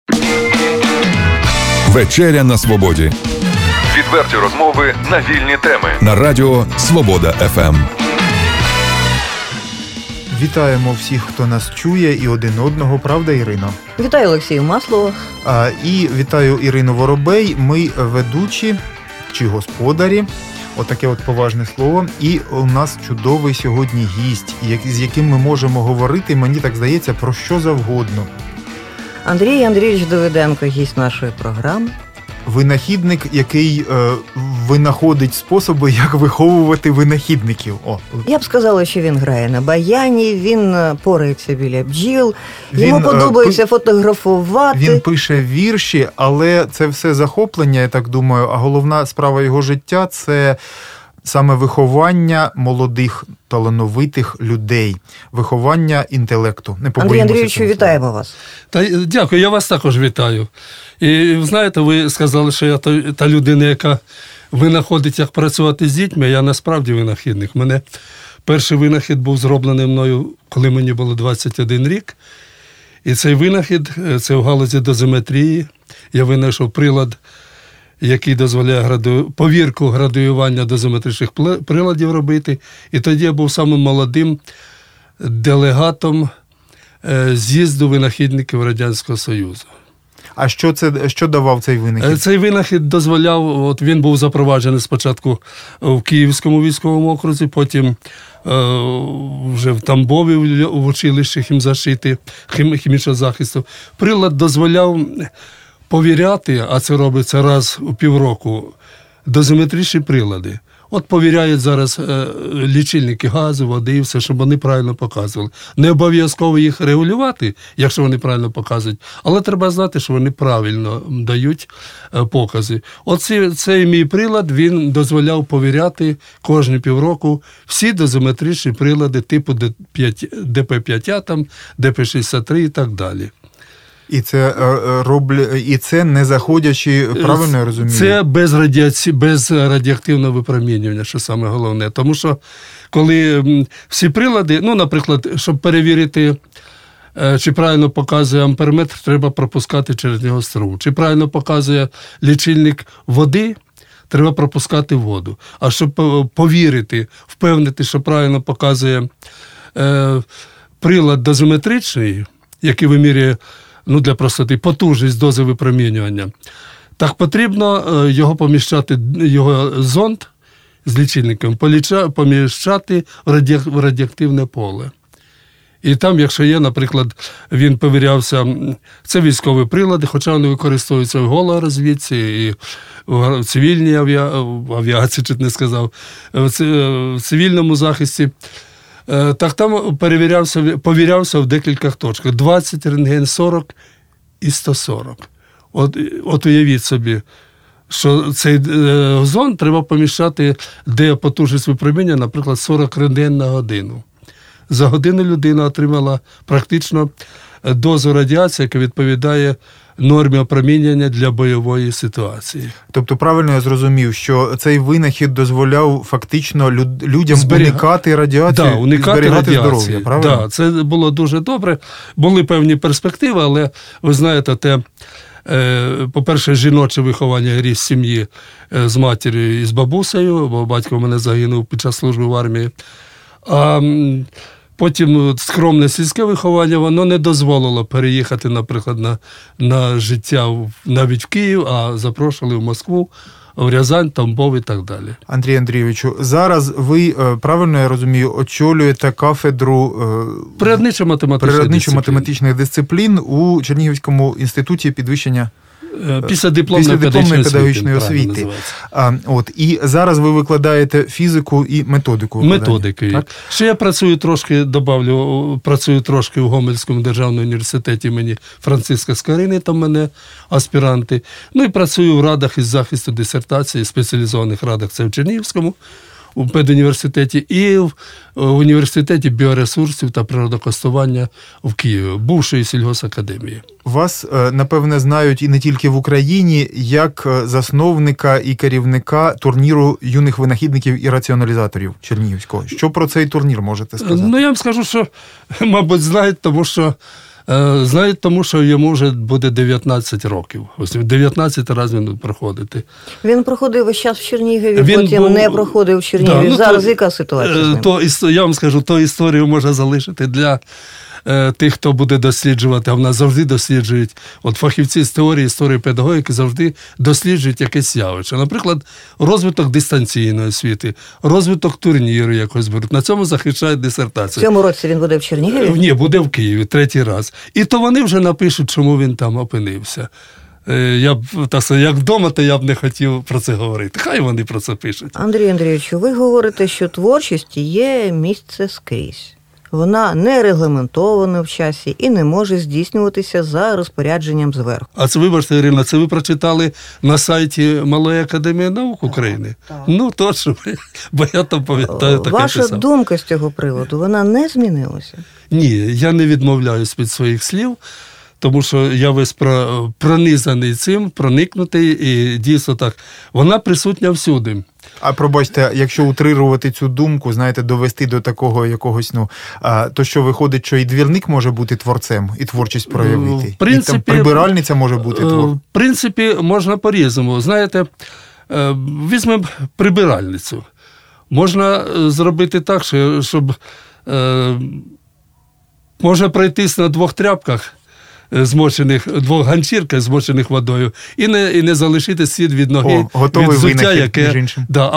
Вечеря на свободі. Відверті розмови на вільні теми. На радіо Свобода ФМ. Вітаємо всіх, хто нас чує, і один одного, правда, Ірино? Вітаю Олексію Маслова. І вітаю Ірину Воробей. Ми ведучі чи господарі. Отаке от поважне слово. І у нас чудовий сьогодні гість, з яким ми можемо говорити, мені так здається, про що завгодно. Андрій Андрійович Давиденко, гість нашої програми. Винахідник, який винаходить способи, як виховувати винахідників. Я б сказала, що він грає на баяні, він порається біля бджіл, йому подобається фотографувати. Він пише вірші, але це все захоплення, я так думаю, а головна справа його життя – це саме виховання молодих, талановитих людей, виховання інтелекту. Андрій Андрійовичу, вітаємо вас. Дякую, я вас також вітаю. І знаєте, ви сказали, що я та людина, яка винаходить, як працювати з дітьми, я насправді винахідник. Мене перший винахід був зроблений мною, коли мені було 21 рік. І цей винахід, це в галузі дозиметрії. Я винайшов прилад, який дозволяє повірку градуювання дозиметричних приладів робити. І тоді я був самим молодим делегатом з'їзду винахідників Радянського Союзу. А що давав цей винахід? Цей винахід дозволяв, він був запроваджений спочатку в Київському військовому окрузі, потім вже в Тамбові в училищі хімічного захисту. Прилад дозволяв повіряти, а це робиться раз у півроку, дозиметричні прилади. От повіряють зараз лічильники газу, води і все, щоб вони правильно показували. Не обов'язково їх регулювати, якщо вони правильно показують, але треба знати, що вони правильно дають покази. Цей мій прилад, він дозволяв повіряти кожні півроку всі дозиметричні прилади типу ДП-5, ДП-63 і так далі. І це не заходячи, правильно я розумію? Це без радіоактивного випромінювання, що саме головне. Тому що коли всі прилади, наприклад, щоб перевірити, чи правильно показує амперметр, треба пропускати через нього струм. Чи правильно показує лічильник води, треба пропускати воду. А щоб повірити, впевнити, що правильно показує прилад дозиметричний, який вимірює для простоти, потужність дози випромінювання. Так потрібно його поміщати, його зонд з лічильником, поміщати в радіоактивне поле. І там, якщо є, наприклад, він повірявся, це військові прилади, хоча вони використовуються в голорозвідці, і в цивільній авіації, чуть не сказав, в цивільному захисті. Так там повірявся в декількох точках. 20 рентген, 40 і 140. От уявіть собі, що цей зонд треба поміщати, де потужність випромінення, наприклад, 40 рентген на годину. За годину людина отримала практично дозу радіації, яка відповідає нормі опромінення для бойової ситуації. Тобто правильно я зрозумів, що цей винахід дозволяв фактично людям уникати радіацію, зберігати здоров'я, правильно? Так, це було дуже добре. Були певні перспективи, але ви знаєте, по-перше, жіноче виховання ріс сім'ї з матір'ю і з бабусею, бо батько в мене загинув під час служби в армії. А потім скромне сільське виховання, воно не дозволило переїхати, наприклад, на життя навіть в Київ, а запрошували в Москву, в Рязань, Тамбов і так далі. Андрій Андрійовичу, зараз ви, правильно я розумію, очолюєте кафедру природничо-математичних дисциплін у Чернігівському інституті підвищення післядипломної педагогічної освіти. І зараз ви викладаєте фізику і методику. Методики. Ще я працюю трошки в Гомельському державному університеті імені Франциска Скорини, там в мене аспіранти. І працюю в радах із захисту дисертації, спеціалізованих радах, це в Чернігівському, у педуніверситеті, і в університеті біоресурсів та природокористування в Києві, бувшої сільгосакадемії. Вас, напевне, знають і не тільки в Україні, як засновника і керівника турніру юних винахідників і раціоналізаторів Чернігівського. Що про цей турнір можете сказати? Я вам скажу, що, мабуть, знають, тому що Знають, тому що йому вже буде 19 років. Ось 19 разів він проходити. Він проходив весь час в Чернігові, потім не проходив в Чернігові. Зараз яка ситуація з ним? Я вам скажу, то історію можна залишити для тих, хто буде досліджувати, а в нас завжди досліджують, от фахівці з теорії, історії, педагогіки завжди досліджують якесь явище. Наприклад, розвиток дистанційної освіти, розвиток турніру якось беруть. На цьому захищають дисертацію. В цьому році він буде в Чернігові? Ні, буде в Києві, 3-й раз. І то вони вже напишуть, чому він там опинився. Я б, як вдома, то я б не хотів про це говорити. Хай вони про це пишуть. Андрій Андрійовичу, ви говорите, що творчість є місце скрізь. Вона не регламентована в часі і не може здійснюватися за розпорядженням зверху. А це, вибачте, Ірина, це ви прочитали на сайті Малої академії наук України? Так. Ну, точно, бо я там пам'ятаю таке Ваша писав. думка з цього приводу, вона не змінилася? Ні, я не відмовляюсь від своїх слів, тому що я весь пронизаний цим, проникнутий, і дійсно так, вона присутня всюди. А пробачте, якщо утрирувати цю думку, знаєте, довести до такого якогось, то що виходить, що і двірник може бути творцем, і творчість проявити? В принципі, і там прибиральниця може бути творцем? В принципі, можна по-різному. Знаєте, візьмемо прибиральницю. Можна зробити так, щоб можна пройтись на 2 тряпках, змочених, 2 ганчірках, змочених водою, і не залишити слід від ноги, від взуття, яке...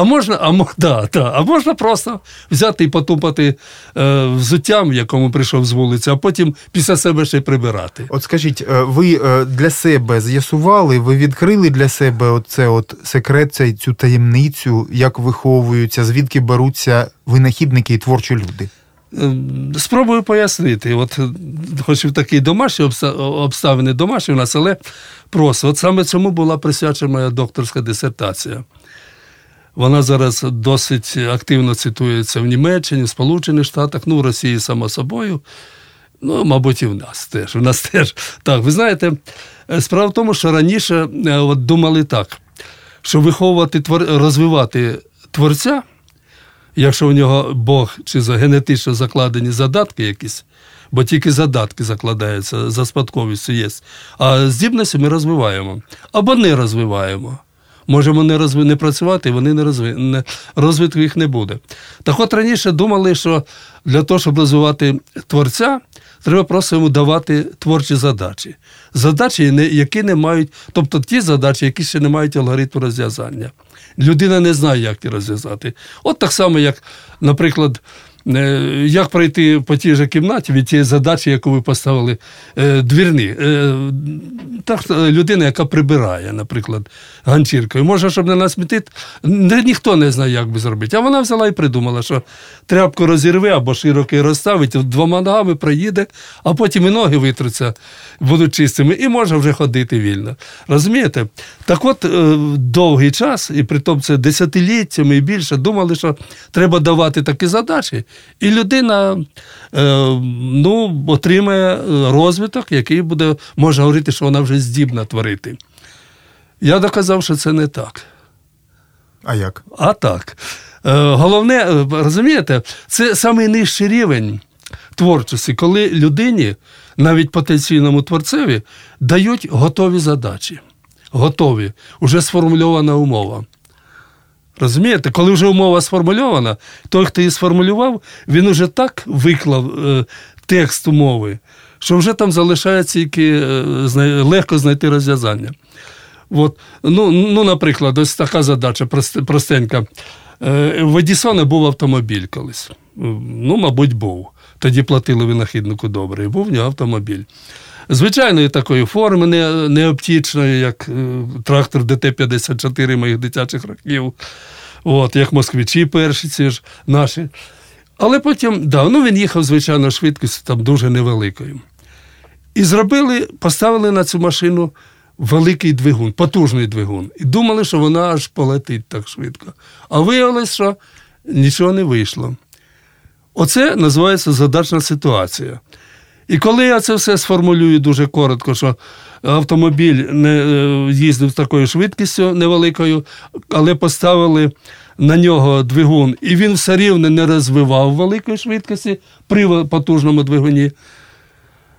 А можна просто взяти і потупати взуттям, якому прийшов з вулиці, а потім після себе ще й прибирати. От скажіть, ви для себе з'ясували, ви відкрили для себе секрет, цю таємницю, як виховуються, звідки беруться винахідники і творчі люди? Спробую пояснити. От, хоч і такі домашні обставини домашні у нас, але просто. От саме цьому була присвячена моя докторська дисертація. Вона зараз досить активно цитується в Німеччині, в Сполучених Штатах, в Росії, само собою. Мабуть, і в нас теж. У нас теж. Так, ви знаєте, справа в тому, що раніше думали так, що виховувати, розвивати творця, якщо у нього Бог чи генетично закладені задатки якісь, бо тільки задатки закладаються, за спадковістю є, а здібності ми розвиваємо. Або не розвиваємо. Можемо не працювати, і вони розвитку їх не буде. Так от раніше думали, що для того, щоб розвивати творця, треба просто йому давати творчі задачі. Задачі, які не мають, тобто ті задачі, які ще не мають алгоритму розв'язання. Людина не знає, як їх розв'язати. От так само, як, наприклад, як пройти по тій же кімнаті від тієї задачі, яку ви поставили, двірні. Так, людина, яка прибирає, наприклад, ганчіркою. Може, щоб не насмітити, ніхто не знає, як би зробити. А вона взяла і придумала, що тряпку розірве або широко розставить, 2 ногами проїде, а потім і ноги витруться, будуть чистими, і може вже ходити вільно. Розумієте? Так от, довгий час, і притом це десятиліттями і більше, думали, що треба давати такі задачі, і людина отримає розвиток, який буде, можна говорити, що вона вже здібна творити. Я доказав, що це не так. А як? А так. Головне, розумієте, це найнижчий рівень творчості, коли людині, навіть потенційному творцеві, дають готові задачі. Готові. Уже сформульована умова. Розумієте? Коли вже умова сформульована, той, хто її сформулював, він уже так виклав текст умови, що вже там залишається тільки легко знайти розв'язання. От. Наприклад, ось така задача простенька. В Едісона був автомобіль колись. Мабуть, був. Тоді платили винахіднику добре. І був в нього автомобіль. Звичайної такої форми, не оптічної, як трактор ДТ-54 моїх дитячих років, як москвичі перші ці ж наші. Але потім, він їхав, звичайно, швидкістю там дуже невеликою. І поставили на цю машину великий двигун, потужний двигун. І думали, що вона аж полетить так швидко. А виявилось, що нічого не вийшло. Оце називається задачна ситуація. І коли я це все сформулюю дуже коротко, що автомобіль не їздив з такою швидкістю невеликою, але поставили на нього двигун, і він все рівно не розвивав великої швидкості при потужному двигуні,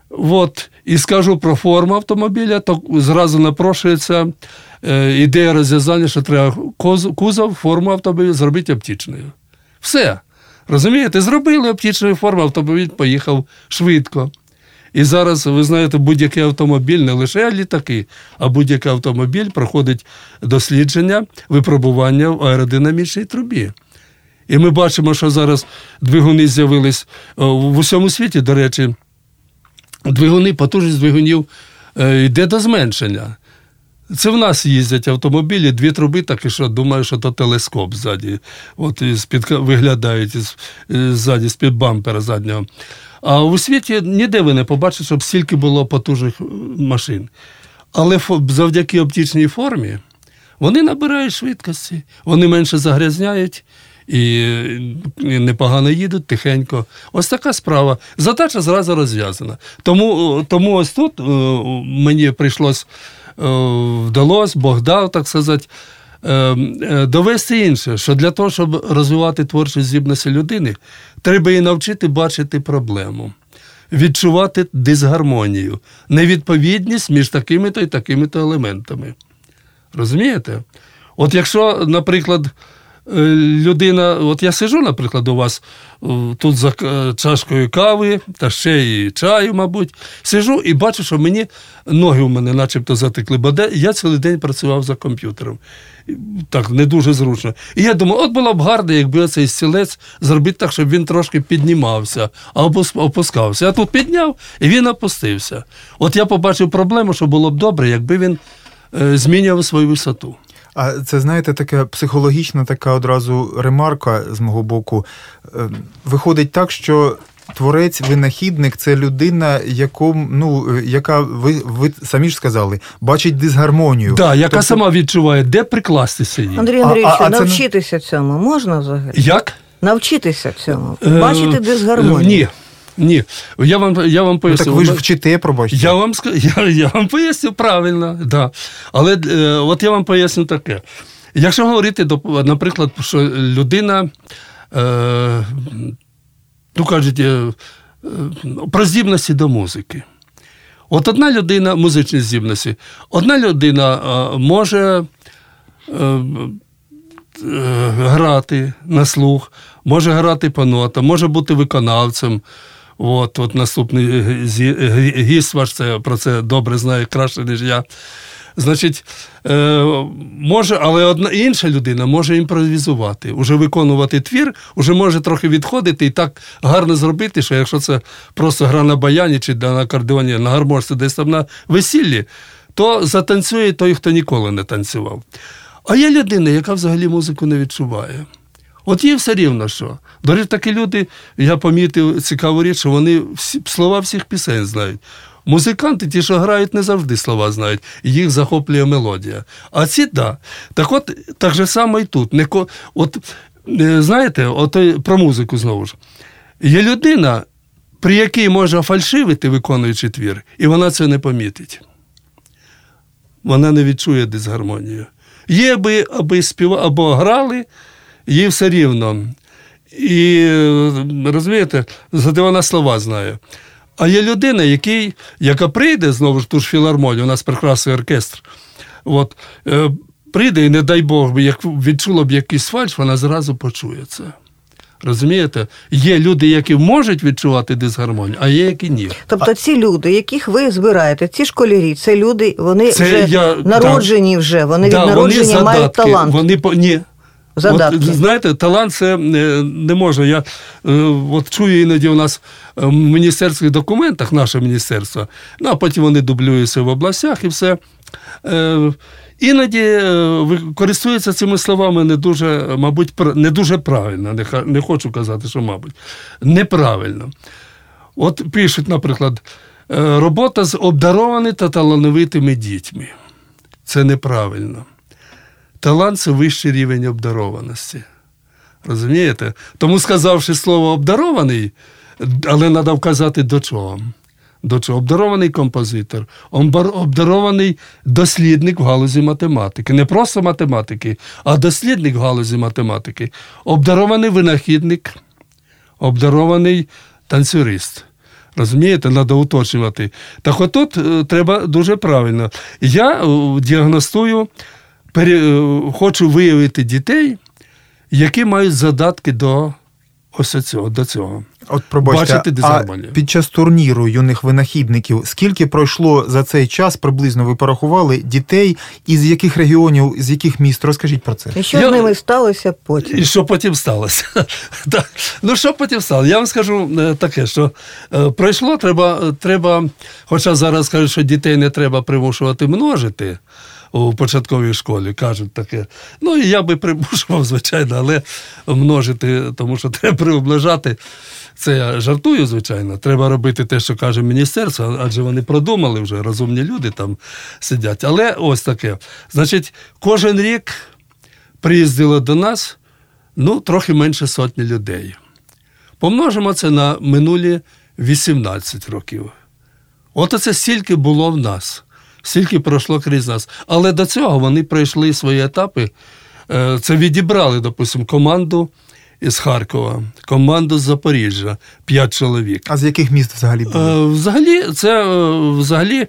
От, і скажу про форму автомобіля, то зразу напрошується ідея розв'язання, що треба кузов, форму автомобіля зробити оптичною. Все. Розумієте? Зробили оптичну форму, автомобіль поїхав швидко. І зараз, ви знаєте, будь-який автомобіль, не лише літаки, а будь-який автомобіль проходить дослідження, випробування в аеродинамічній трубі. І ми бачимо, що зараз двигуни з'явились в усьому світі, до речі, потужність двигунів йде до зменшення. Це в нас їздять автомобілі, 2 труби, так і що, думаю, що то телескоп ззаді, от виглядають ззаді, з-під бампера заднього. А у світі ніде ви не побачите, щоб стільки було потужних машин. Але завдяки оптичній формі вони набирають швидкості, вони менше загрязняють і непогано їдуть, тихенько. Ось така справа. Задача зразу розв'язана. Тому ось тут мені вдалося, Бог дав, так сказати, довести інше, що для того, щоб розвивати творчі здібності людини, треба її навчити бачити проблему, відчувати дисгармонію, невідповідність між такими-то і такими-то елементами. Розумієте? От якщо, наприклад, людина, от я сиджу, наприклад, у вас тут за чашкою кави, та ще і чаю, мабуть, сиджу і бачу, що ноги у мене начебто затекли, бо я цілий день працював за комп'ютером. Так, не дуже зручно. І я думаю, от було б гарно, якби цей стілець зробити так, щоб він трошки піднімався, або опускався. Я тут підняв, і він опустився. От я побачив проблему, що було б добре, якби він змінював свою висоту. А це, знаєте, така психологічна така одразу ремарка з мого боку. Виходить так, що творець, винахідник – це людина, яка, ви самі ж сказали, бачить дисгармонію. Так, яка сама відчуває, де прикластися їй. Андрій Андрійович, навчитися цьому можна взагалі? Як? Навчитися цьому? Бачити дисгармонію? Ні. Я вам поясню. Так ви ж вчите, пробачте. Я вам поясню правильно, да. Але от я вам поясню таке. Якщо говорити, наприклад, що людина, кажуть, про здібності до музики. От одна людина, музичні здібності, одна людина може грати на слух, може грати по нотам, може бути виконавцем. От наступний гість ваш про це добре знає, краще, ніж я. Значить, може, але інша людина може імпровізувати, уже виконувати твір, уже може трохи відходити і так гарно зробити, що якщо це просто гра на баяні чи на акордеоні, на гармошці, десь там на весіллі, то затанцює той, хто ніколи не танцював. А є людина, яка взагалі музику не відчуває. От їй все рівно що. До речі, такі люди, я помітив цікаву річ, що вони слова всіх пісень знають. Музиканти, ті, що грають, не завжди слова знають, їх захоплює мелодія. А ці, да. Так от, так же само і тут. Знаєте, про музику знову ж. Є людина, при якій може фальшивити, виконуючи твір, і вона це не помітить. Вона не відчує дисгармонію. Є аби співали, або грали, їй все рівно. І, розумієте, зате вона слова знає. А є людина, яка прийде, знову ж ту ж філармонію, у нас прекрасний оркестр, прийде і, не дай Бог, як відчула б якийсь фальш, вона зразу почує це. Розумієте? Є люди, які можуть відчувати дисгармонію, а є, які ні. Тобто ці люди, яких ви збираєте, ці школярі, це люди, вони народжені вже, вони від народження мають талант. Ні. Задатки. От, знаєте, талант це не може. Я чую іноді у нас в міністерських документах, наше міністерство, а потім вони дублюються в областях і все. Іноді користуються цими словами не дуже, мабуть, не дуже правильно. Не хочу казати, що, мабуть, неправильно. От пишуть, наприклад, робота з обдарованими та талановитими дітьми. Це неправильно. Талант – це вищий рівень обдарованості. Розумієте? Тому, сказавши слово «обдарований», але треба вказати до чого. До чого? Обдарований композитор, обдарований дослідник в галузі математики. Не просто математики, а дослідник в галузі математики. Обдарований винахідник, обдарований танцюрист. Розумієте, треба уточнювати. Так отут треба дуже правильно. Я діагностую, хочу виявити дітей, які мають задатки до цього. От пробачте, а під час турніру юних винахідників скільки пройшло за цей час, приблизно ви порахували, дітей, із яких регіонів, з яких міст? Розкажіть про це. І що з ними сталося потім? І що потім сталося? Ну, що потім сталося? Я вам скажу таке, що пройшло, треба, хоча зараз кажуть, що дітей не треба примушувати множити, у початковій школі, кажуть таке. Ну, і я би примушував, звичайно, але множити, тому що треба приближати. Це я жартую, звичайно. Треба робити те, що каже міністерство, адже вони продумали вже, розумні люди там сидять. Але ось таке. Значить, кожен рік приїздило до нас, трохи менше 100 людей. Помножимо це на минулі 18 років. От оце стільки було в нас. Стільки пройшло крізь нас. Але до цього вони пройшли свої етапи. Це відібрали, допустимо, команду із Харкова, команду з Запоріжжя, 5 чоловік. А з яких міст взагалі були? Взагалі,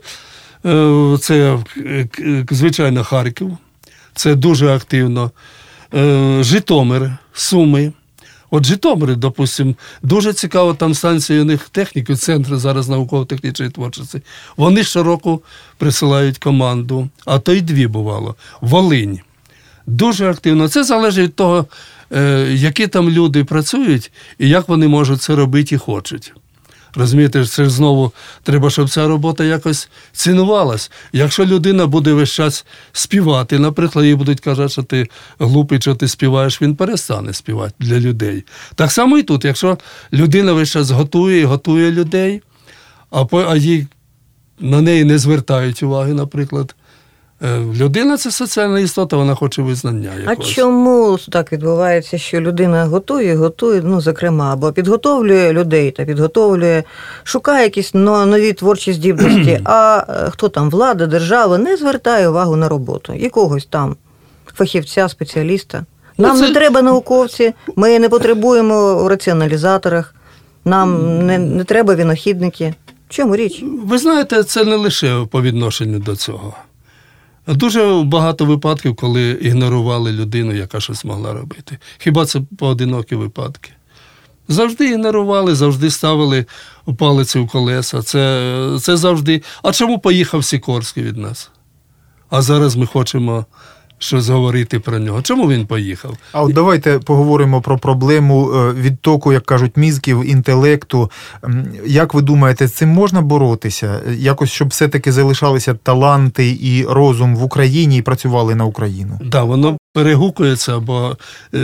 це звичайно, Харків. Це дуже активно. Житомир, Суми. От Житомир, допустимо, дуже цікаво, там станція у них техніки, центр зараз науково-технічної творчості. Вони щороку присилають команду, а то й 2 бувало. Волинь. Дуже активно. Це залежить від того, які там люди працюють і як вони можуть це робити і хочуть. Розумієте, це ж знову треба, щоб ця робота якось цінувалась. Якщо людина буде весь час співати, наприклад, їй будуть казати, що ти глупий, що ти співаєш, він перестане співати для людей. Так само і тут, якщо людина весь час готує людей, а їй на неї не звертають уваги, наприклад. Людина – це соціальна істота, вона хоче визнання якогось. А чому так відбувається, що людина готує, зокрема, або підготовлює людей та шукає якісь нові творчі здібності, а хто там, влада, держава, не звертає увагу на роботу якогось там фахівця, спеціаліста. Нам не треба науковці, ми не потребуємо у раціоналізаторах, нам не треба винахідники. В чому річ? Ви знаєте, це не лише по відношенню до цього. Дуже багато випадків, коли ігнорували людину, яка щось могла робити. Хіба це поодинокі випадки? Завжди ігнорували, завжди ставили палиці в колеса. Це завжди. А чому поїхав Сікорський від нас? А зараз ми хочемо щось говорити про нього. Чому він поїхав? А от давайте поговоримо про проблему відтоку, як кажуть, мізків, інтелекту. Як ви думаєте, з цим можна боротися? Якось, щоб все-таки залишалися таланти і розум в Україні і працювали на Україну? Так, воно перегукується, бо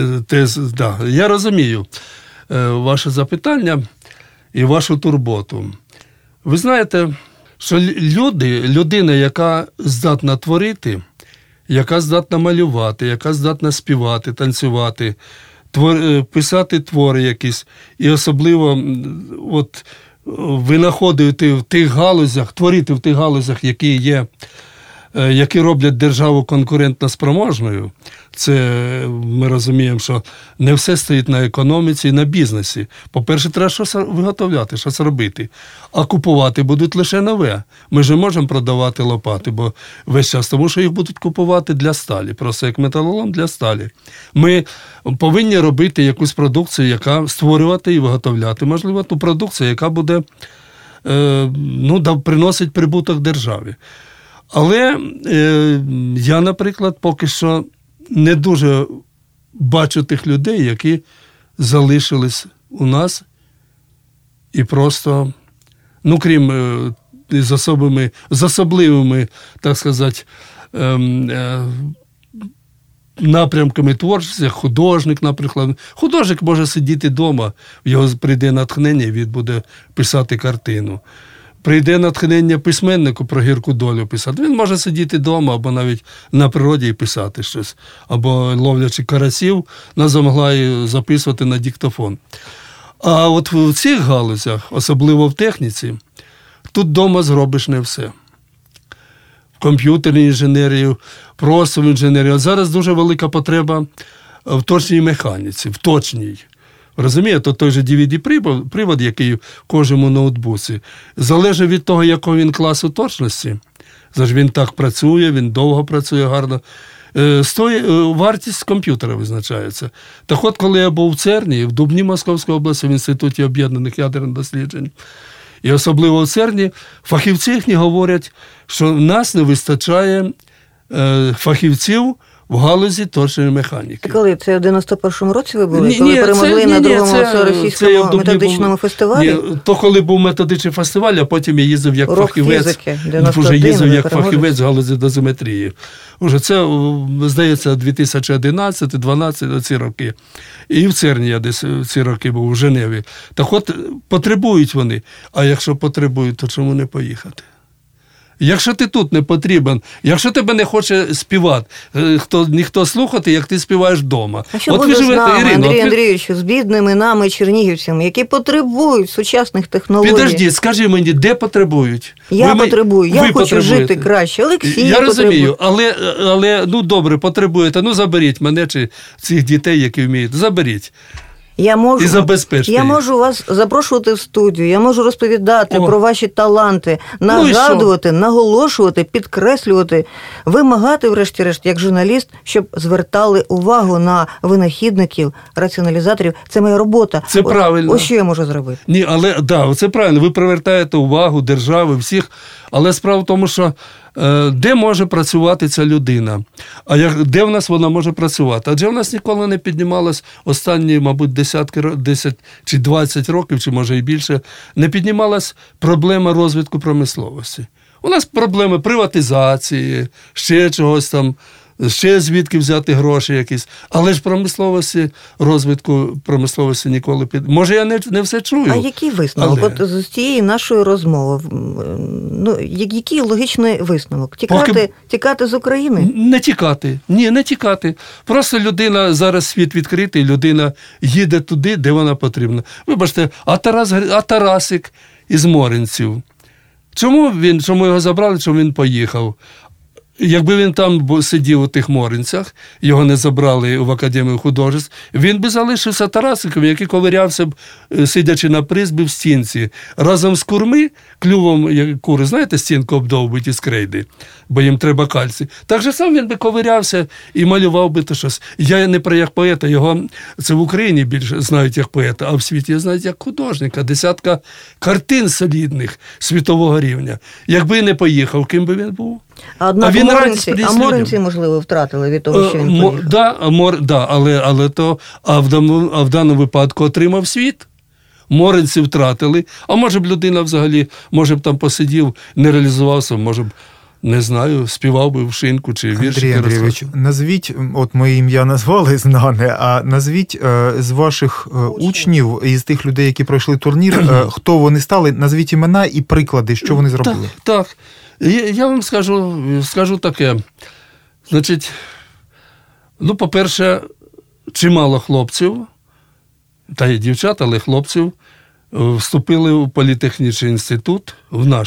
я розумію запитання і вашу турботу. Ви знаєте, що людина, яка здатна творити, яка здатна малювати, яка здатна співати, танцювати, писати твори якісь, і особливо винаходити в тих галузях, творити в тих галузях, які роблять державу конкурентно спроможною. Це ми розуміємо, що не все стоїть на економіці і на бізнесі. По-перше, треба щось виготовляти, щось робити. А купувати будуть лише нове. Ми ж не можемо продавати лопати, бо весь час, тому що їх будуть купувати для сталі, просто як металолом для сталі. Ми повинні робити якусь продукцію, яка створювати і виготовляти, можливо, ту продукцію, яка буде приносить прибуток державі. Але я, наприклад, поки що не дуже бачу тих людей, які залишились у нас і просто, крім з особливими, так сказати, напрямками творчості, художник, наприклад. Художник може сидіти вдома, в його прийде натхнення, і він буде писати картину. Прийде натхнення письменнику про гірку долю писати. Він може сидіти вдома або навіть на природі і писати щось. Або ловлячи карасів на замгла записувати на диктофон. А от в цих галузях, особливо в техніці, тут вдома зробиш не все. В комп'ютерній інженерії, просто в інженерії. От зараз дуже велика потреба в точній механіці, в точній. Розумієте, той же DVD-привод, який в кожному ноутбуці, залежить від того, якого він класу точності. Тож він так працює, він довго працює гарно. Вартість комп'ютера визначається. Так от, коли я був в ЦЕРНі, в Дубні Московської області, в Інституті об'єднаних ядерних досліджень, і особливо в ЦЕРНі, фахівці їхні говорять, що в нас не вистачає фахівців в галузі точної механіки. Коли? Це в 91-му році ви були? Коли перемогли на другому російському методичному фестивалі? Ні, то коли був методичний фестиваль, а потім я їздив як фахівець. Вже їздив як фахівець в галузі дозиметрії. Уже це, здається, 2011-2012 ці роки. І в ЦЕРНі я десь ці роки був, у Женеві. Так от, потребують вони. А якщо потребують, то чому не поїхати? Якщо ти тут не потрібен, якщо тебе не хоче співати, ніхто слухати, як ти співаєш вдома. А що буде з нами, Андрій Андрійович, з бідними нами, чернігівцями, які потребують сучасних технологій? Підожди, скажи мені, де потребують? Я потребую, я хочу жити краще, Олексій потребує. Я розумію, але, ну добре, потребуєте, ну заберіть мене чи цих дітей, які вміють, заберіть. Я можу вас запрошувати в студію, я можу розповідати про ваші таланти, нагадувати, наголошувати, підкреслювати, вимагати, врешті-решт, як журналіст, щоб звертали увагу на винахідників, раціоналізаторів. Це моя робота. Це правильно. Ось що я можу зробити. Ні, але це правильно, ви привертаєте увагу держави, всіх, але справа в тому, що де може працювати ця людина? Де в нас вона може працювати? Адже в нас ніколи не піднімалась останні, мабуть, 10 чи 20 років, чи може і більше, не піднімалась проблема розвитку промисловості. У нас проблеми приватизації, ще чогось там, ще звідки взяти гроші якісь. Але ж розвитку промисловості ніколи Може, я не все чую. А який висновок? От з цієї нашої розмови, який логічний висновок? Тікати з України? Не тікати. Ні, не тікати. Просто людина, зараз світ відкритий, людина їде туди, де вона потрібна. Вибачте, а Тарасик із Моринців? Чому його забрали, чому він поїхав? Якби він там сидів у тих Моринцях, його не забрали в Академію художеств, він би залишився Тарасиком, який ковирявся б, сидячи на призбі в стінці, разом з клювом кури, знаєте, стінку обдовбуть із крейди, бо їм треба кальцій. Так же сам він би ковирявся і малював би то щось. Я не про як поета, його це в Україні більше знають як поета, а в світі знають як художника. 10 картин солідних світового рівня. Якби не поїхав, ким би він був? А Моринці, можливо, втратили від того, що він поїхав. А в даному випадку отримав світ. Моринці втратили. А може б людина взагалі, може б там посидів, не реалізувався, може б, не знаю, співав би в шинку чи віршики. Андрій Андрійович, назвіть, от моє ім'я назвали знане, а назвіть з ваших учнів, із тих людей, які пройшли турнір, хто вони стали, назвіть імена і приклади, що вони зробили. Так. Я вам скажу таке. Значить, по-перше, чимало хлопців, та й дівчат, але хлопців, вступили у політехнічний інститут, в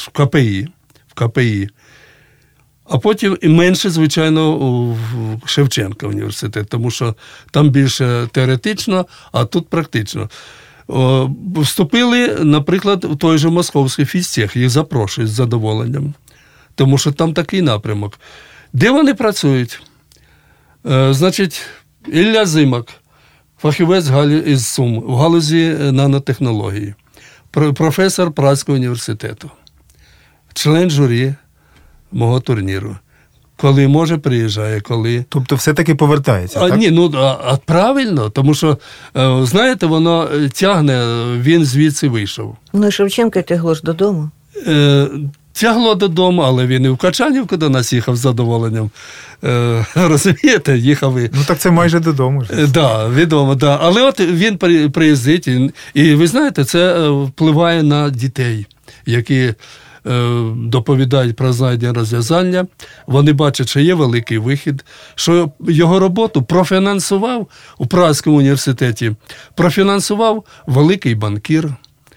КПІ. А потім і менше, звичайно, в Шевченка університет, тому що там більше теоретично, а тут практично. Вступили, наприклад, в той же московський фізтех, їх запрошують з задоволенням. Тому що там такий напрямок. Де вони працюють? Значить, Ілля Зимак, фахівець із Сум, в галузі нанотехнології, професор Празького університету, член журі мого турніру. Коли може, приїжджає, коли... Тобто все-таки повертається, так? Ні, правильно, тому що, знаєте, воно тягне, він звідси вийшов. Шевченка тягло ж додому. Тягло додому, але він і в Качанівку до нас їхав з задоволенням. Розумієте, їхав і... Так це майже додому. Так, відомо, так. Але от він приїздить, і ви знаєте, це впливає на дітей, які доповідають про знайдення розв'язання. Вони бачать, що є великий вихід, що його роботу у Празькому університеті профінансував великий банкір.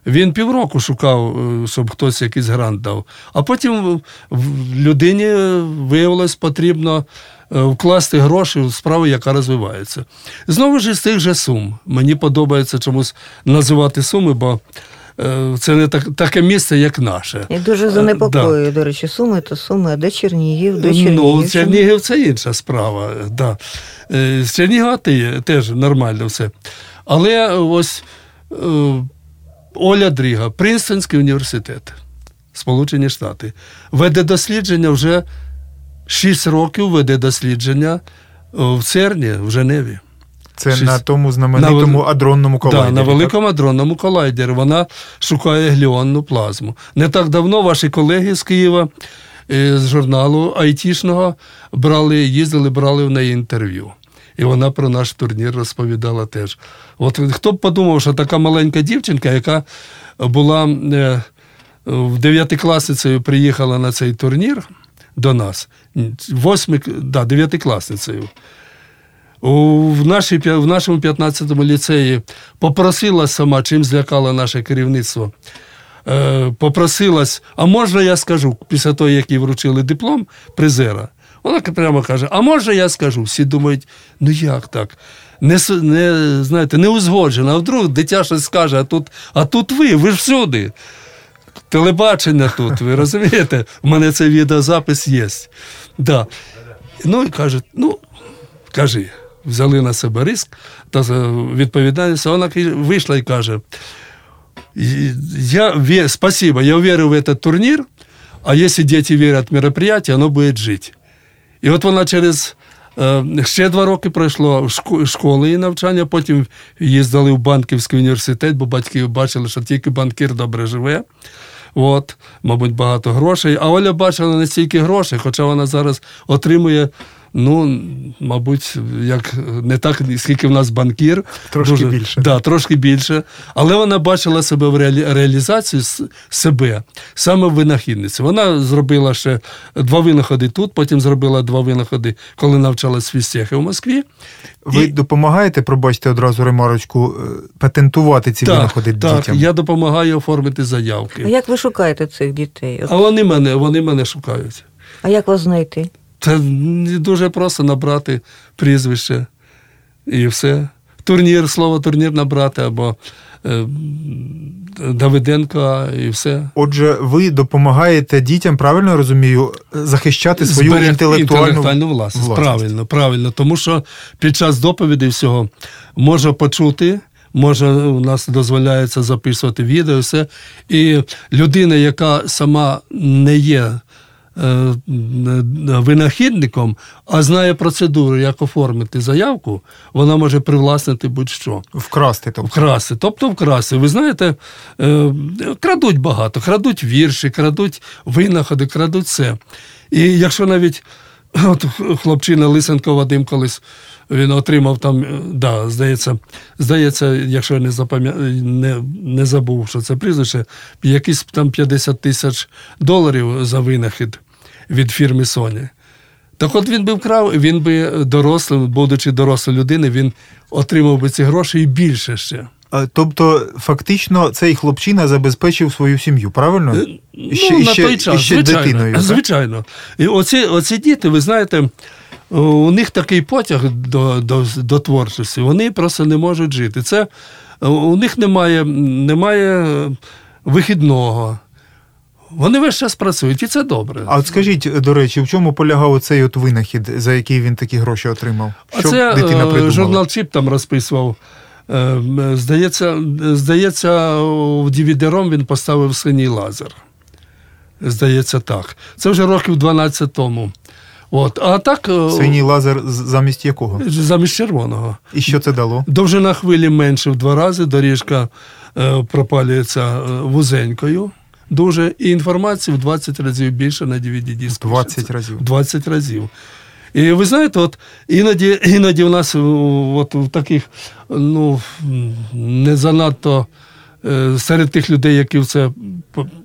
Він півроку шукав, щоб хтось якийсь грант дав. А потім людині виявилось потрібно вкласти гроші в справу, яка розвивається. Знову ж із тих же Сум. Мені подобається чомусь називати Суми, бо це не таке місце, як наше. І дуже занепокоює, до речі, Суми то Суми, а де Чернігів? Де Чернігів? Ну, Чернігів – це інша справа. Да. З Чернігова теж нормально все. Але ось Оля Дріга, Принстонський університет, Сполучені Штати, веде дослідження вже 6 років, веде дослідження в ЦЕРНі, в Женеві. Це на тому знаменитому адронному колайдері. Так, на великому адронному колайдері. Вона шукає гліонну плазму. Не так давно ваші колеги з Києва, з журналу айтішного, їздили, брали в неї інтерв'ю. І вона про наш турнір розповідала теж. От хто б подумав, що така маленька дівчинка, яка була в 9-класницею, приїхала на цей турнір до нас, 9-класницею, в нашому 15-му ліцеї попросилась сама, чим злякала наше керівництво, попросилась, а можна я скажу, після того, як їй вручили диплом призера, вона прямо каже, а може я скажу? Всі думають, ну як так? Не узгоджено, а вдруг дитя щось скаже, а тут ви ж всюди. Телебачення тут, ви розумієте? У мене цей відеозапис є. Да. Ну і кажуть, кажи. Взяли на себе риск та відповідальність. Вона вийшла і каже, спасибо, я верю в этот турнір, а якщо діти вірять в мероприятие, воно буде жити. І от вона ще 2 роки пройшло школи і навчання, потім їздили в Банківський університет, бо батьки бачили, що тільки банкір добре живе. От, мабуть, багато грошей. А Оля бачила не стільки грошей, хоча вона зараз отримує, мабуть, не так, скільки в нас банкір. Трошки більше. Да, трошки більше. Але вона бачила себе в реалізацію себе, саме в винахідниці. Вона зробила ще 2 винаходи тут, потім зробила 2 винаходи, коли навчалась в фізтехі в Москві. Ви допомагаєте, пробачте одразу ремарочку, патентувати ці винаходи дітям? Так, я допомагаю оформити заявки. А як ви шукаєте цих дітей? А вони мене шукають. А як вас знайти? Це дуже просто набрати прізвище і все. Слово турнір набрати або Давиденко і все. Отже, ви допомагаєте дітям, правильно я розумію, захищати свою інтелектуальну власність. Правильно. Тому що під час доповіді всього може почути, у нас дозволяється записувати відео, все. І людина, яка сама не є винахідником, а знає процедуру, як оформити заявку, вона може привласнити будь-що. Вкрасти. Вкрасти. Ви знаєте, крадуть багато, крадуть вірші, крадуть винаходи, крадуть все. І якщо навіть хлопчина Лисенко Вадим колись, він отримав там, здається, якщо я не забув, що це прізвище, якісь там $50 000 за винахід від фірми Sony. Так от він би вкрав, він би дорослим, будучи дорослою людиною, він отримав би ці гроші і більше ще. Тобто, фактично, цей хлопчина забезпечив свою сім'ю, правильно? На той час, звичайно. Дитиною, звичайно. І оці діти, ви знаєте, у них такий потяг до творчості, вони просто не можуть жити. У них немає вихідного. Вони весь час працюють, і це добре. А от скажіть, до речі, в чому полягав оцей винахід, за який він такі гроші отримав? Що дитина придумала? Журнал Чіп там розписував. Здається, в DVD-ROM він поставив синій лазер. Здається, так. Це вже років 12 тому. А так, синій лазер замість якого? Замість червоного. І що це дало? Довжина хвилі менше в 2 рази, доріжка пропалюється вузенькою дуже, і інформації в 20 разів більше на DVD-диску. 20 разів? 20 разів. І ви знаєте, іноді в нас в таких, не занадто серед тих людей, які в це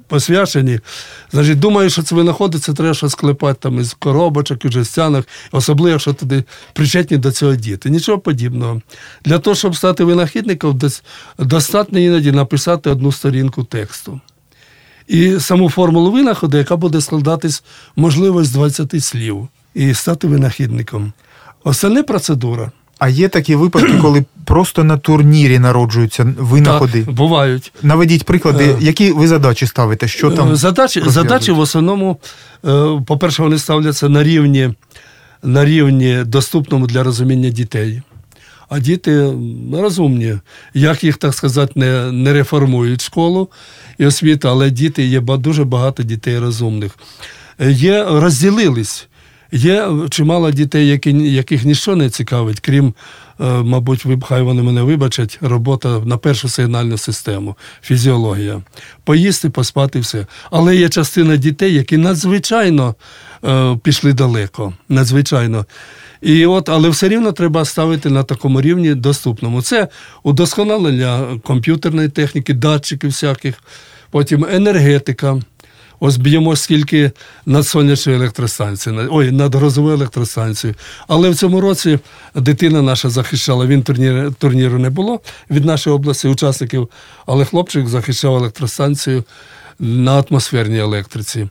посвячені. Значить, думаю, що це винаходи, це треба щось склепати там із коробочок, із жестянок, особливо, якщо туди причетні до цього діти. Нічого подібного. Для того, щоб стати винахідником, достатньо іноді написати одну сторінку тексту. І саму формулу винаходу, яка буде складатись, можливо, з 20 слів. І стати винахідником. Остальне процедура. А є такі випадки, коли просто на турнірі народжуються винаходи? Так, бувають. Наведіть приклади, які ви задачі ставите? Що там Задачі в основному, по-перше, вони ставляться на рівні доступному для розуміння дітей. А діти розумні. Як їх, так сказати, не реформують школу і освіту, але є дуже багато дітей розумних. Розділились. Є чимало дітей, яких ніщо не цікавить, крім, мабуть, хай вони мене вибачать, робота на першу сигнальну систему, фізіологія. Поїсти, поспати, все. Але є частина дітей, які надзвичайно пішли далеко. Надзвичайно. Але все рівно треба ставити на такому рівні доступному. Це удосконалення комп'ютерної техніки, датчиків всяких, потім енергетика. Ось б'ємо скільки над сонячною електростанцією, над грозовою електростанцією. Але в цьому році дитина наша захищала, турніру не було від нашої області учасників, але хлопчик захищав електростанцію на атмосферній електриці.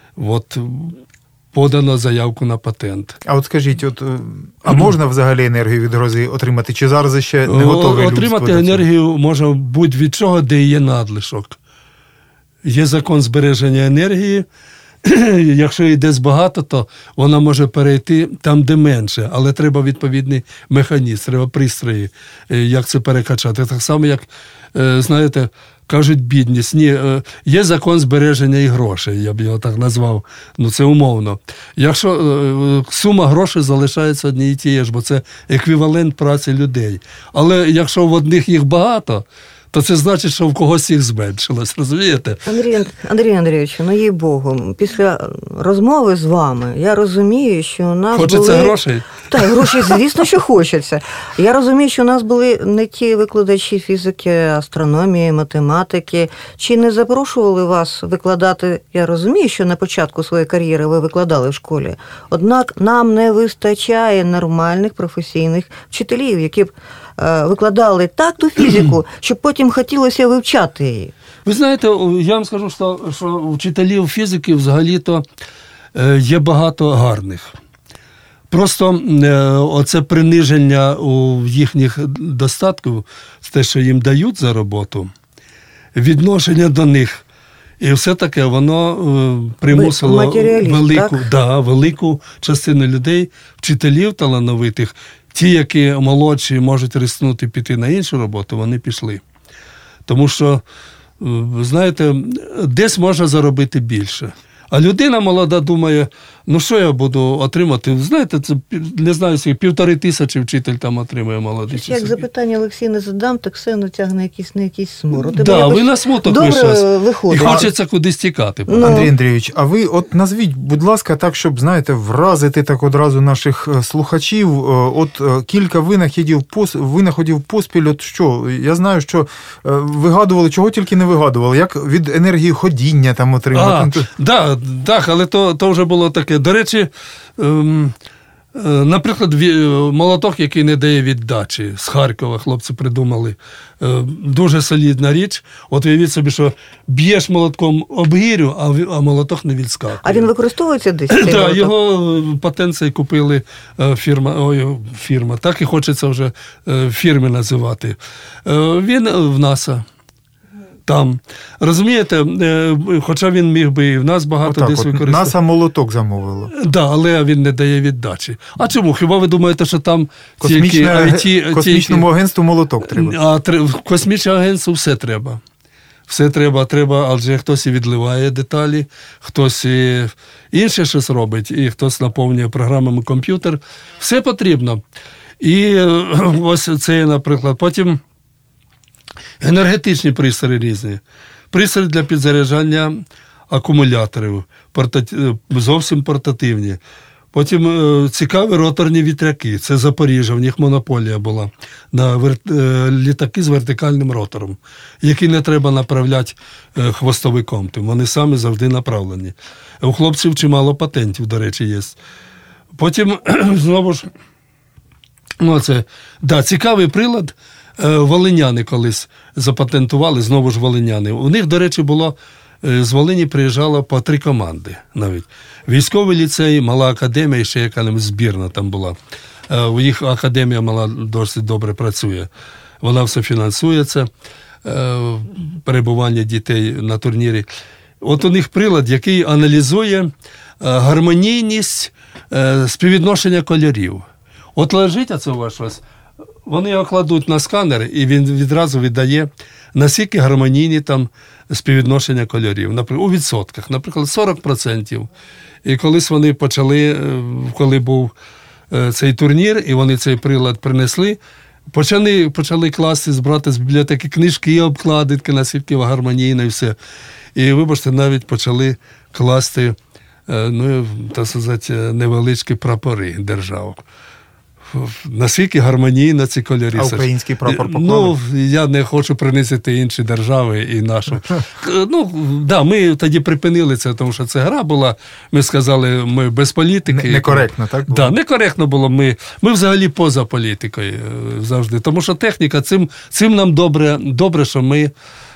Подано заявку на патент. А от скажіть, а можна взагалі енергію від грози отримати? Чи зараз ще не готове людство? Отримати енергію можна будь-від чого, де є надлишок. Є закон збереження енергії. Якщо її десь багато, то вона може перейти там, де менше. Але треба відповідний механізм, треба пристрої, як це перекачати. Так само, як, знаєте, кажуть, бідність. Ні, є закон збереження і грошей, я б його так назвав. Це умовно. Якщо сума грошей залишається однією і тією ж, бо це еквівалент праці людей. Але якщо в одних їх багато, то це значить, що в когось їх зменшилось, розумієте? Андрій Андрійович, їй Богу, після розмови з вами я розумію, що у нас Хочеться грошей? Так, грошей, звісно, що хочеться. Я розумію, що у нас були не ті викладачі фізики, астрономії, математики. Чи не запрошували вас викладати? Я розумію, що на початку своєї кар'єри ви викладали в школі. Однак нам не вистачає нормальних професійних вчителів, які б викладали так ту фізику, щоб потім хотілося вивчати її. Ви знаєте, я вам скажу, що вчителів фізики взагалі-то є багато гарних. Просто оце приниження у їхніх достатків, те, що їм дають за роботу, відношення до них, і все таке, воно примусило велику частину людей, вчителів талановитих, ті, які молодші, можуть рискнути піти на іншу роботу, вони пішли. Тому що, знаєте, десь можна заробити більше. А людина молода думає, що я буду отримати? Знаєте, це, не знаю, 1500 вчитель там отримує молодий. Як запитання Олексій не задам, так все натягне на якийсь смород. Так, ви на смуток вийшли. І хочеться кудись тікати. Андрій Андрійович, а ви назвіть, будь ласка, так, щоб, знаєте, вразити так одразу наших слухачів, кілька винаходів поспіль, що? Я знаю, що вигадували, чого тільки не вигадували, як від енергії ходіння там отримати. Так, але то вже було таке. До речі, наприклад, молоток, який не дає віддачі, з Харкова хлопці придумали. Дуже солідна річ. От уявіть собі, що б'єш молотком об гирю, а молоток не відскакує. А він використовується десь? Так, його патент цей купили фірма. Так і хочеться вже фірми називати. Він в НАСА. Там. Розумієте, хоча він міг би і в нас багато десь використовувати. НАСА молоток замовило. Так, але він не дає віддачі. А чому? Хіба ви думаєте, що там космічному агентству молоток треба? А в космічному агентству все треба. Все треба, адже хтось і відливає деталі, хтось і інше щось робить, і хтось наповнює програмами комп'ютер. Все потрібно. І ось це, наприклад, потім енергетичні пристрої різні. Пристрої для підзаряджання акумуляторів, зовсім портативні. Потім цікаві роторні вітряки. Це Запоріжжя, в них монополія була на літаки з вертикальним ротором, які не треба направляти хвостовиком. Вони самі завжди направлені. У хлопців чимало патентів, до речі, є. Потім, знову ж, цікавий прилад. Волиняни колись запатентували, знову ж волиняни. У них, до речі, було, з Волині приїжджало по 3 команди навіть. Військовий ліцей, мала академія, і ще яка збірна там була. У їх академія мала досить добре працює. Вона все фінансує, це перебування дітей на турнірі. От у них прилад, який аналізує гармонійність співвідношення кольорів. От лежить оце у вас щось, вони його кладуть на сканер, і він відразу віддає, наскільки гармонійні там співвідношення кольорів. У відсотках, наприклад, 40%. І колись вони почали, коли був цей турнір, і вони цей прилад принесли, почали класти, збирати з бібліотеки книжки, обкладинки, наскільки гармонійно і все. І, вибачте, навіть почали класти, так сказати, невеличкі прапори держав. Наскільки гармонійно ці кольори. А український прапор поклали? Я не хочу принизити інші держави і нашу. Ми тоді припинили це, тому що це гра була. Ми сказали, ми без політики. Некоректно, так? Так, некоректно було. Ми взагалі поза політикою завжди. Тому що техніка, цим нам добре, що ми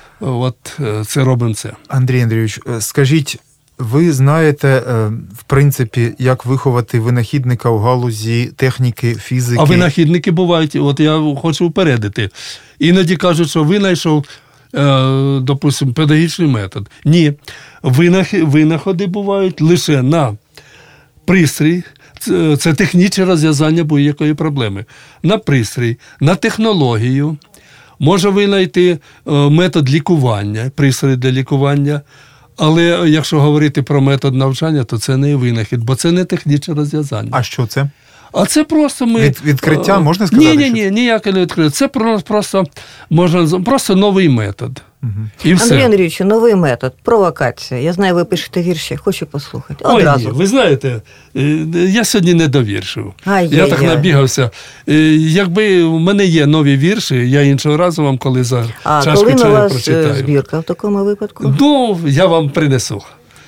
це робимо це. Андрій Андрійович, скажіть, ви знаєте, в принципі, як виховати винахідника у галузі техніки, фізики? А винахідники бувають, от я хочу упередити. Іноді кажуть, що винайшов, допустимо, педагогічний метод. Ні, винаходи бувають лише на пристрій, це технічне розв'язання будь-якої проблеми. На пристрій, на технологію, може винайти метод лікування, пристрій для лікування. Але якщо говорити про метод навчання, то це не винахід, бо це не технічне розв'язання. А що це? А це просто ми... Відкриття, можна сказати? Ні, ніяке не відкриття. Це просто новий метод. Угу. І все. Андрій Андрійович, новий метод, провокація. Я знаю, ви пишете вірші, хочу послухати. Одразу. Ні, ви знаєте, я сьогодні не довіршив. Я так набігався. Якби в мене є нові вірші, я іншого разу вам, коли за чашку чаю прочитаю. А коли у вас збірка в такому випадку? Я вам принесу.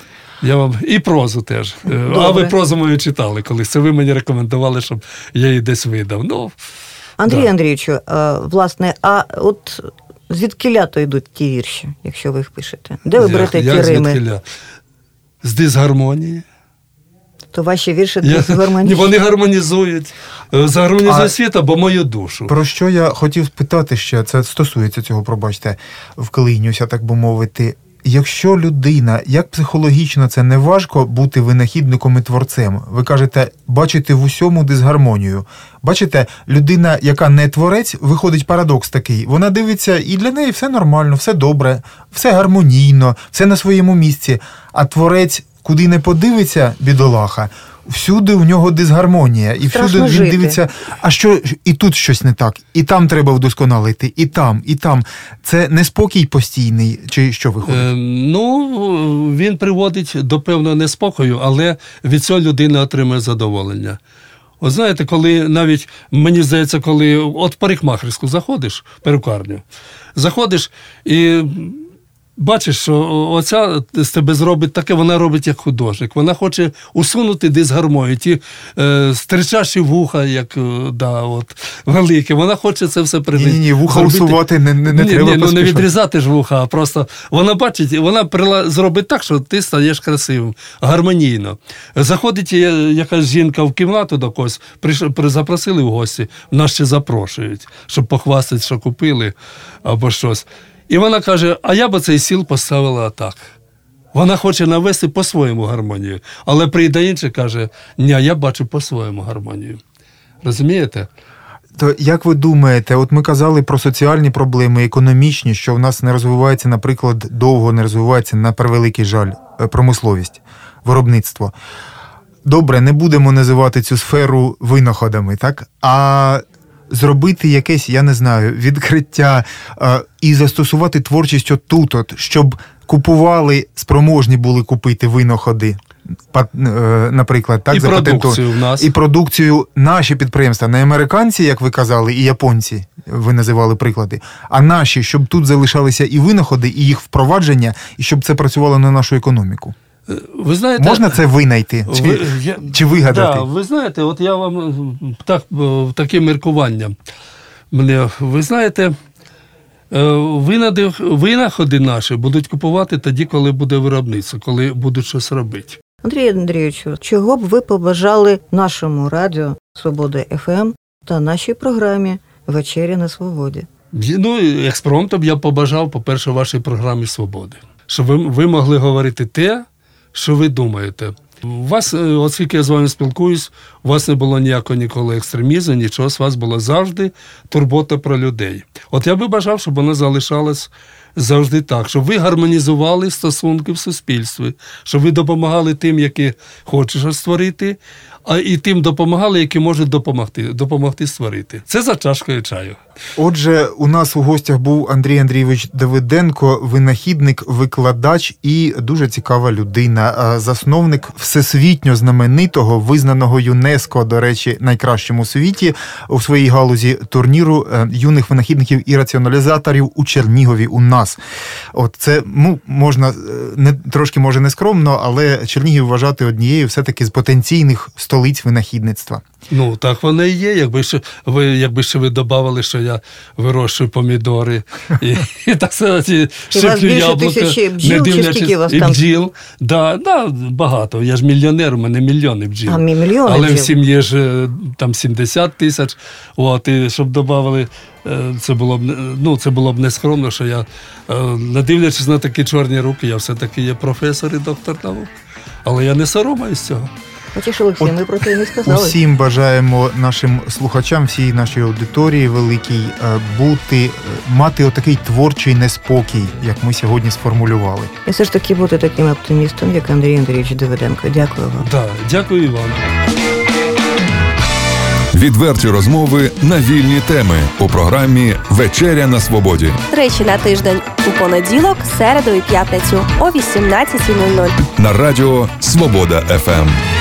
І прозу теж. Добре. А ви прозу мою читали колись. Це ви мені рекомендували, щоб я її десь видав. Андрію Андрійовичу, власне, а от звідкіля-то йдуть ті вірші, якщо ви їх пишете? Де ви берете ті рими? Звідкіля? З дисгармонії. То ваші вірші дисгармонії? Вони гармонізують. Загармонізують світ або мою душу. Про що я хотів спитати ще, це стосується цього, пробачте, вклинюся, так би мовити. Якщо людина, як психологічно це не важко бути винахідником і творцем? Ви кажете, бачите в усьому дисгармонію. Бачите, людина, яка не творець, виходить парадокс такий. Вона дивиться, і для неї все нормально, все добре, все гармонійно, все на своєму місці. А творець, куди не подивиться, бідолаха, всюди в нього дисгармонія. І всюди він дивиться, а що, і тут щось не так, і там треба вдосконалити, і там, і там. Це неспокій постійний, чи що виходить? Він приводить до певного неспокою, але від цього людина отримує задоволення. От знаєте, коли навіть, мені здається, коли от в парикмахерську заходиш, перукарню, заходиш і... бачиш, що оця з тебе зробить таке, вона робить як художник. Вона хоче усунути дисгармонію, ті стричащі вуха, як великі. Вона хоче це все придати. Ні, вуха усувати не треба. Не відрізати ж вуха, а просто вона бачить, вона зробить так, що ти стаєш красивим, гармонійно. Заходить якась жінка в кімнату до когось, запросили в гості, нас ще запрошують, щоб похвастати, що купили або щось. І вона каже, а я б цей стіл поставила так. Вона хоче навести по-своєму гармонію. Але прийде інший, каже, ні, я бачу по-своєму гармонію. Розумієте? То як ви думаєте, от ми казали про соціальні проблеми, економічні, що в нас не розвивається, наприклад, довго не розвивається, на превеликий жаль, промисловість, виробництво. Добре, не будемо називати цю сферу винаходами, так? А зробити якесь, я не знаю, відкриття і застосувати творчість отут, щоб купували, спроможні були купити винаходи. наприклад, так, і продукцію в нас. І продукцію наші підприємства, не американці, як ви казали, і японці, ви називали приклади, а наші, щоб тут залишалися і винаходи, і їх впровадження, і щоб це працювало на нашу економіку. Ви знаєте, можна це винайти чи вигадати? Да, ви знаєте, от я вам таке міркування. Ви знаєте, винаходи наші будуть купувати тоді, коли буде виробництво, коли будуть щось робити. Андрію Андрійовичу, чого б ви побажали нашому радіо «Свобода ФМ» та нашій програмі «Вечеря на свободі»? Ну, експромтом я побажав, по-перше, вашій програмі «Свободи». Щоб ви могли говорити те, що ви думаєте. У вас, оскільки я з вами спілкуюсь, у вас не було ніякого ніколи екстремізму, нічого, з вас була завжди турбота про людей. От я би бажав, щоб вона залишалась завжди так, щоб ви гармонізували стосунки в суспільстві, щоб ви допомагали тим, які хочуть щось створити, а і тим допомагали, які можуть допомогти створити. Це за чашкою чаю. Отже, у нас у гостях був Андрій Андрійович Давиденко, винахідник, викладач і дуже цікава людина, засновник всесвітньо знаменитого, визнаного ЮНЕСКО, до речі, найкращим у світі, у своїй галузі турніру юних винахідників і раціоналізаторів у Чернігові у нас. От це, можна, трошки може не скромно, але Чернігів вважати однією все-таки з потенційних столиць винахідництва. Ну, так воно і є. Якби ще ви додавали, що я вирощую помідори і так сказати, шиплю яблука, не дивлячись, і бджіл. Да, багато. Я ж мільйонер, у мене мільйони бджіл. Але в сім'ї ж там 70 тисяч. От, і щоб додавали, це було б нескромно, що я, не дивлячись на такі чорні руки, я все-таки є професор і доктор наук. Але я не соромаюсь цього. Хочеш, Олексій, ми про це не сказали. Усім бажаємо нашим слухачам, всій нашій аудиторії великій, мати отакий творчий неспокій, як ми сьогодні сформулювали. І все ж таки бути таким оптимістом, як Андрій Андрійович Давиденко. Дякую вам. Так, дякую і вам. Відверті розмови на вільні теми у програмі «Вечеря на свободі». Тричі на тиждень у понеділок, середу і п'ятницю о 18:00. На радіо «Свобода ФМ».